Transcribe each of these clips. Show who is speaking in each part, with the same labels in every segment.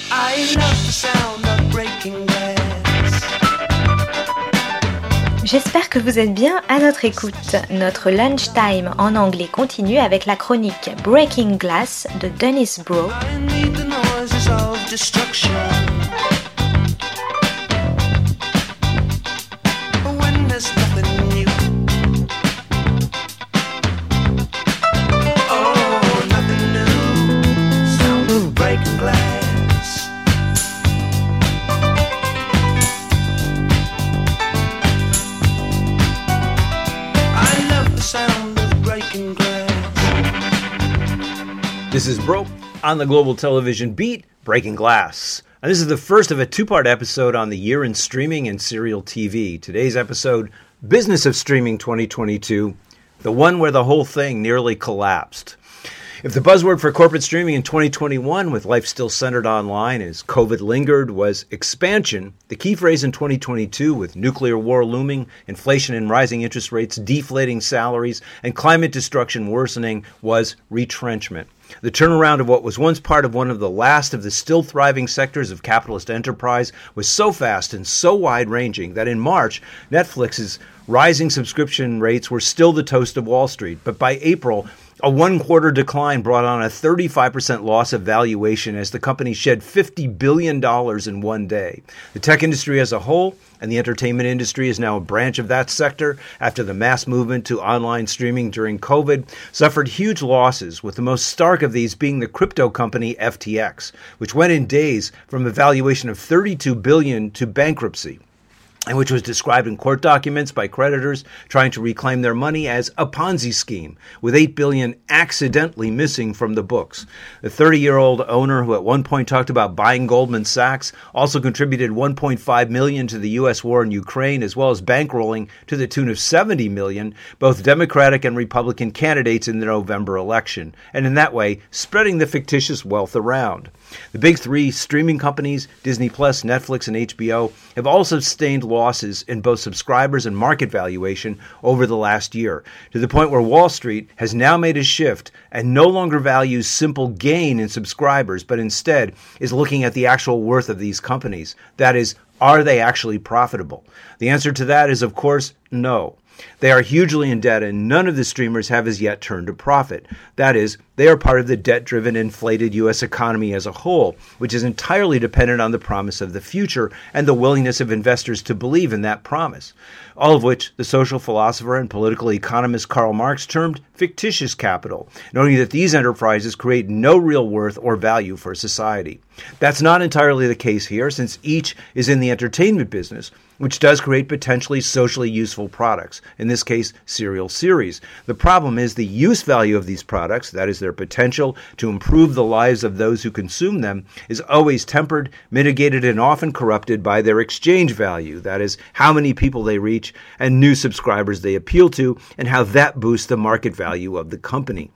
Speaker 1: I love the sound of breaking glass.
Speaker 2: J'espère que vous êtes bien à notre écoute. Notre lunchtime en anglais continue avec la chronique Breaking Glass de Dennis Bro.
Speaker 1: I need the noises of destruction. When there's nothing new. Oh, nothing new. Sound of breaking glass.
Speaker 3: This is Bro on the Global Television Beat, Breaking Glass. And this is the first of a two-part episode on the year in streaming and serial TV. Today's episode, Business of Streaming 2022, the one where the whole thing nearly collapsed. If the buzzword for corporate streaming in 2021, with life still centered online as COVID lingered, was expansion, the key phrase in 2022, with nuclear war looming, inflation and rising interest rates, deflating salaries, and climate destruction worsening, was retrenchment. The turnaround of what was once part of one of the last of the still thriving sectors of capitalist enterprise was so fast and so wide-ranging that in March, Netflix's rising subscription rates were still the toast of Wall Street. But by April, a one-quarter decline brought on a 35% loss of valuation as the company shed $50 billion in one day. The tech industry as a whole, and the entertainment industry is now a branch of that sector after the mass movement to online streaming during COVID, suffered huge losses, with the most stark of these being the crypto company FTX, which went in days from a valuation of $32 billion to bankruptcy, and which was described in court documents by creditors trying to reclaim their money as a Ponzi scheme, with $8 billion accidentally missing from the books. The 30-year-old owner, who at one point talked about buying Goldman Sachs, also contributed $1.5 million to the U.S. war in Ukraine, as well as bankrolling to the tune of $70 million, both Democratic and Republican candidates in the November election, and in that way, spreading the fictitious wealth around. The big three streaming companies, Disney+, Netflix, and HBO, have also sustained losses in both subscribers and market valuation over the last year, to the point where Wall Street has now made a shift and no longer values simple gain in subscribers, but instead is looking at the actual worth of these companies. That is, are they actually profitable? The answer to that is, of course, no. They are hugely in debt, and none of the streamers have as yet turned a profit. That is, they are part of the debt-driven, inflated U.S. economy as a whole, which is entirely dependent on the promise of the future and the willingness of investors to believe in that promise, all of which the social philosopher and political economist Karl Marx termed fictitious capital, noting that these enterprises create no real worth or value for society. That's not entirely the case here, since each is in the entertainment business, which does create potentially socially useful products, in this case, serial series. The problem is the use value of these products, that is, their potential to improve the lives of those who consume them, is always tempered, mitigated, and often corrupted by their exchange value, that is, how many people they reach and new subscribers they appeal to, and how that boosts the market value of the company.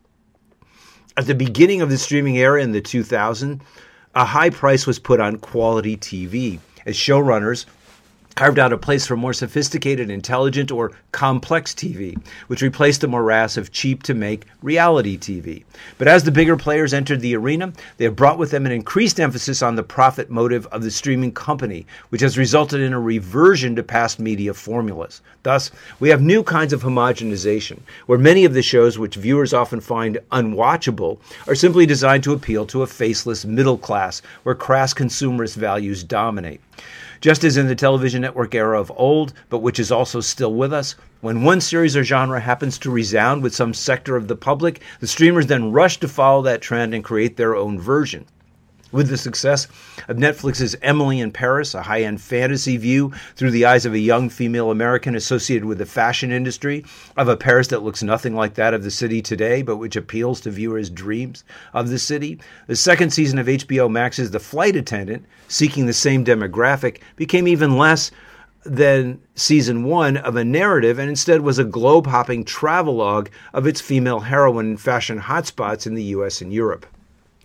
Speaker 3: At the beginning of the streaming era in the 2000s, a high price was put on quality TV, as showrunners carved out a place for more sophisticated, intelligent, or complex TV, which replaced the morass of cheap-to-make reality TV. But as the bigger players entered the arena, they have brought with them an increased emphasis on the profit motive of the streaming company, which has resulted in a reversion to past media formulas. Thus, we have new kinds of homogenization, where many of the shows which viewers often find unwatchable are simply designed to appeal to a faceless middle class, where crass consumerist values dominate. Just as in the television network era of old, but which is also still with us, when one series or genre happens to resound with some sector of the public, the streamers then rush to follow that trend and create their own version. With the success of Netflix's Emily in Paris, a high-end fantasy view through the eyes of a young female American associated with the fashion industry, of a Paris that looks nothing like that of the city today, but which appeals to viewers' dreams of the city, the second season of HBO Max's The Flight Attendant, seeking the same demographic, became even less than season one of a narrative and instead was a globe-hopping travelogue of its female heroine in fashion hotspots in the U.S. and Europe.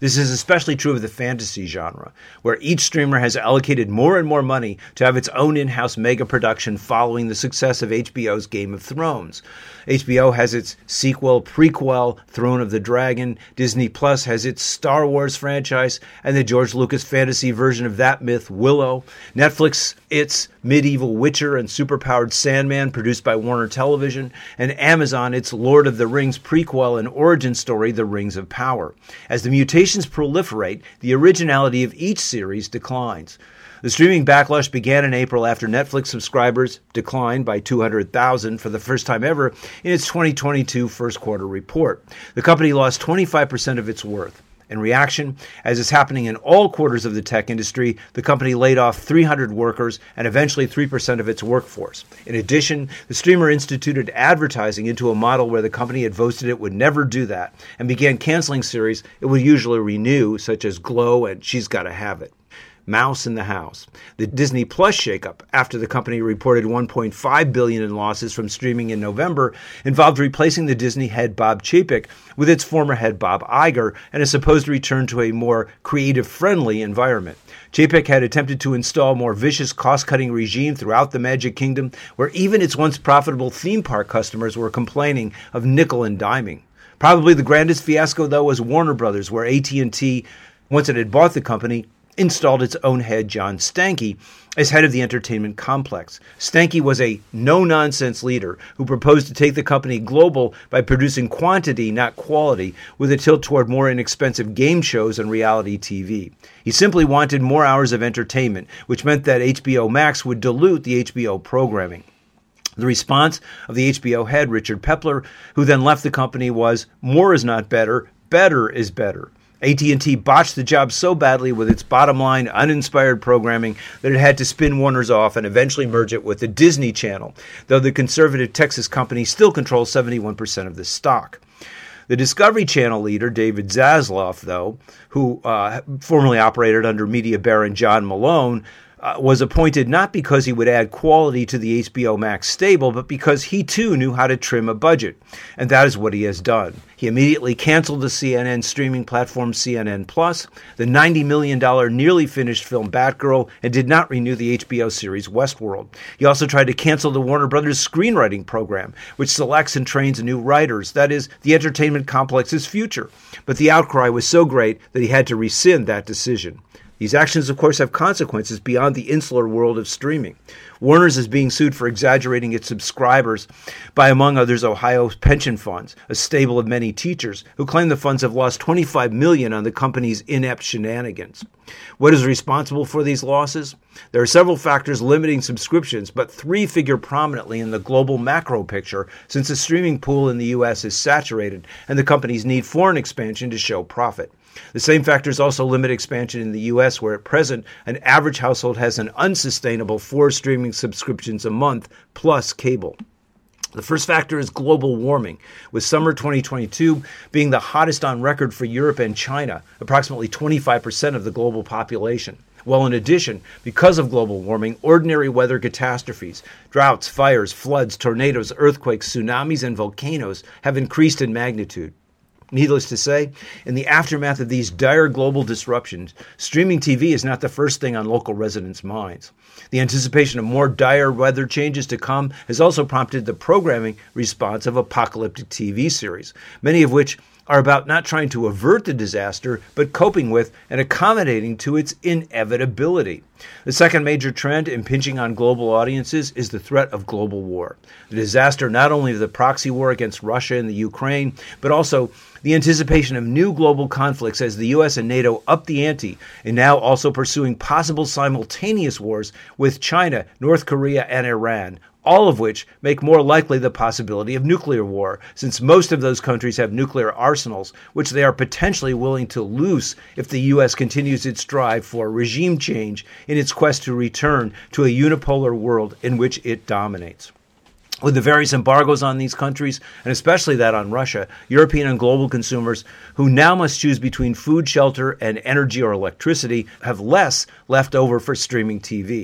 Speaker 3: This is especially true of the fantasy genre, where each streamer has allocated more and more money to have its own in-house mega production following the success of HBO's Game of Thrones. HBO has its sequel, prequel, Throne of the Dragon. Disney Plus has its Star Wars franchise and the George Lucas fantasy version of that myth, Willow. Netflix, its medieval Witcher and superpowered Sandman, produced by Warner Television. And Amazon, its Lord of the Rings prequel and origin story, The Rings of Power. As the mutations proliferate, the originality of each series declines. The streaming backlash began in April after Netflix subscribers declined by 200,000 for the first time ever in its 2022 first quarter report. The company lost 25% of its worth. In reaction, as is happening in all quarters of the tech industry, the company laid off 300 workers and eventually 3% of its workforce. In addition, the streamer instituted advertising into a model where the company had boasted it would never do that and began canceling series it would usually renew, such as Glow and She's Gotta Have It. Mouse in the House. The Disney Plus shakeup, after the company reported $1.5 billion in losses from streaming in November, involved replacing the Disney head Bob Chapek with its former head Bob Iger and a supposed return to a more creative-friendly environment. Chapek had attempted to install a more vicious cost-cutting regime throughout the Magic Kingdom, where even its once profitable theme park customers were complaining of nickel and diming. Probably the grandest fiasco, though, was Warner Brothers, where AT&T, once it had bought the company, installed its own head, John Stankey, as head of the entertainment complex. Stankey was a no-nonsense leader who proposed to take the company global by producing quantity, not quality, with a tilt toward more inexpensive game shows and reality TV. He simply wanted more hours of entertainment, which meant that HBO Max would dilute the HBO programming. The response of the HBO head, Richard Pepler, who then left the company, was, "More is not better, better is better." AT&T botched the job so badly with its bottom-line, uninspired programming that it had to spin Warner's off and eventually merge it with the Disney Channel, though the conservative Texas company still controls 71% of the stock. The Discovery Channel leader, David Zaslav, though, who formerly operated under media baron John Malone, was appointed not because he would add quality to the HBO Max stable, but because he too knew how to trim a budget. And that is what he has done. He immediately canceled the CNN streaming platform CNN Plus, the $90 million nearly finished film Batgirl, and did not renew the HBO series Westworld. He also tried to cancel the Warner Brothers screenwriting program, which selects and trains new writers, that is, the entertainment complex's future. But the outcry was so great that he had to rescind that decision. These actions, of course, have consequences beyond the insular world of streaming. Warner's is being sued for exaggerating its subscribers by, among others, Ohio's pension funds, a stable of many teachers, who claim the funds have lost $25 million on the company's inept shenanigans. What is responsible for these losses? There are several factors limiting subscriptions, but three figure prominently in the global macro picture, since the streaming pool in the U.S. is saturated and the companies need foreign expansion to show profit. The same factors also limit expansion in the U.S., where at present an average household has an unsustainable 4 streaming subscriptions a month plus cable. The first factor is global warming, with summer 2022 being the hottest on record for Europe and China, approximately 25% of the global population. Well, in addition, because of global warming, ordinary weather catastrophes, droughts, fires, floods, tornadoes, earthquakes, tsunamis, and volcanoes have increased in magnitude. Needless to say, in the aftermath of these dire global disruptions, streaming TV is not the first thing on local residents' minds. The anticipation of more dire weather changes to come has also prompted the programming response of apocalyptic TV series, many of which are about not trying to avert the disaster, but coping with and accommodating to its inevitability. The second major trend impinging on global audiences is the threat of global war. The disaster not only of the proxy war against Russia and the Ukraine, but also the anticipation of new global conflicts as the U.S. and NATO up the ante, and now also pursuing possible simultaneous wars with China, North Korea, and Iran, all of which make more likely the possibility of nuclear war, since most of those countries have nuclear arsenals, which they are potentially willing to loose if the U.S. continues its drive for regime change in its quest to return to a unipolar world in which it dominates. With the various embargoes on these countries, and especially that on Russia, European and global consumers who now must choose between food, shelter, and energy or electricity have less left over for streaming TV.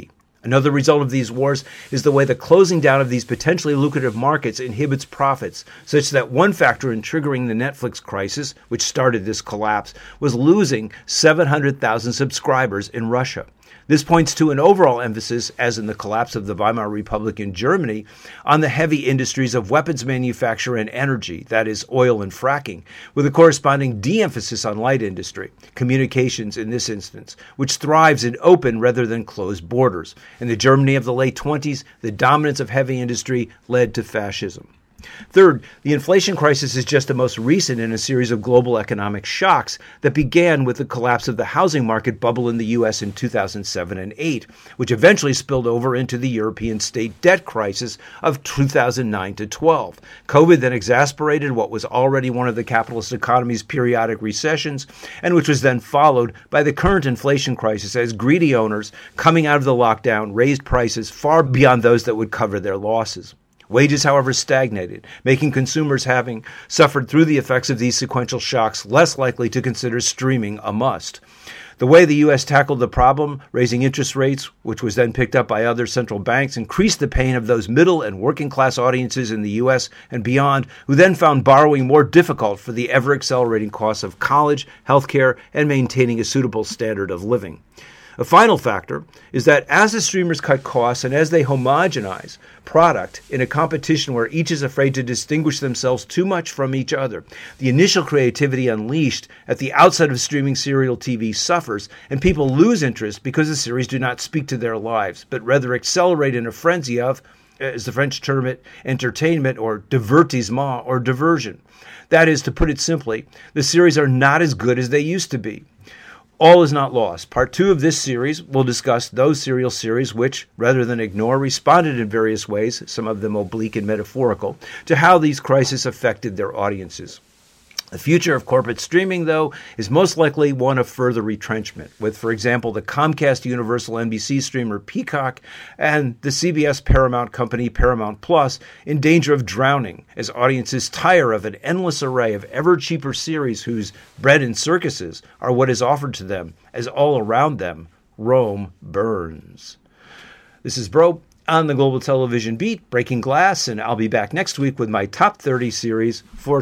Speaker 3: Another result of these wars is the way the closing down of these potentially lucrative markets inhibits profits, such that one factor in triggering the Netflix crisis, which started this collapse, was losing 700,000 subscribers in Russia. This points to an overall emphasis, as in the collapse of the Weimar Republic in Germany, on the heavy industries of weapons manufacture and energy, that is, oil and fracking, with a corresponding de-emphasis on light industry, communications in this instance, which thrives in open rather than closed borders. In the Germany of the late 20s, the dominance of heavy industry led to fascism. Third, the inflation crisis is just the most recent in a series of global economic shocks that began with the collapse of the housing market bubble in the U.S. in 2007 and 8, which eventually spilled over into the European state debt crisis of 2009 to 12. COVID then exacerbated what was already one of the capitalist economy's periodic recessions, and which was then followed by the current inflation crisis as greedy owners coming out of the lockdown raised prices far beyond those that would cover their losses. Wages, however, stagnated, making consumers, having suffered through the effects of these sequential shocks, less likely to consider streaming a must. The way the U.S. tackled the problem, raising interest rates, which was then picked up by other central banks, increased the pain of those middle and working class audiences in the U.S. and beyond, who then found borrowing more difficult for the ever-accelerating costs of college, healthcare, and maintaining a suitable standard of living. A final factor is that as the streamers cut costs and as they homogenize product in a competition where each is afraid to distinguish themselves too much from each other, the initial creativity unleashed at the outset of streaming serial TV suffers, and people lose interest because the series do not speak to their lives, but rather accelerate in a frenzy of, as the French term it, entertainment or divertissement or diversion. That is, to put it simply, the series are not as good as they used to be. All is not lost. Part 2 of this series will discuss those serial series which, rather than ignore, responded in various ways, some of them oblique and metaphorical, to how these crises affected their audiences. The future of corporate streaming, though, is most likely one of further retrenchment, with, for example, the Comcast Universal NBC streamer Peacock and the CBS Paramount company Paramount Plus in danger of drowning as audiences tire of an endless array of ever-cheaper series whose bread and circuses are what is offered to them as all around them Rome burns. This is Bro on the Global Television Beat, Breaking Glass, and I'll be back next week with my top 30 series for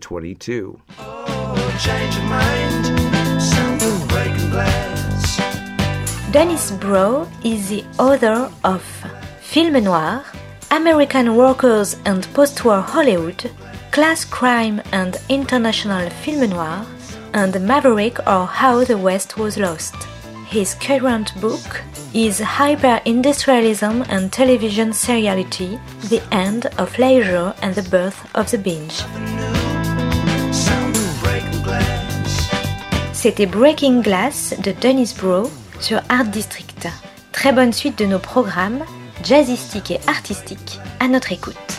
Speaker 3: 2022.
Speaker 1: Oh, change your mind. Something breaking glass.
Speaker 2: Dennis Brough is the author of Film Noir, American Workers and Post-War Hollywood, Class Crime and International Film Noir, and Maverick or How the West Was Lost. His current book is Hyper-Industrialism and Television Seriality, The End of Leisure and the Birth of the Binge. C'était Breaking Glass de Dennis Brough sur Art District. Très bonne suite de nos programmes, jazzistiques et artistiques, à notre écoute.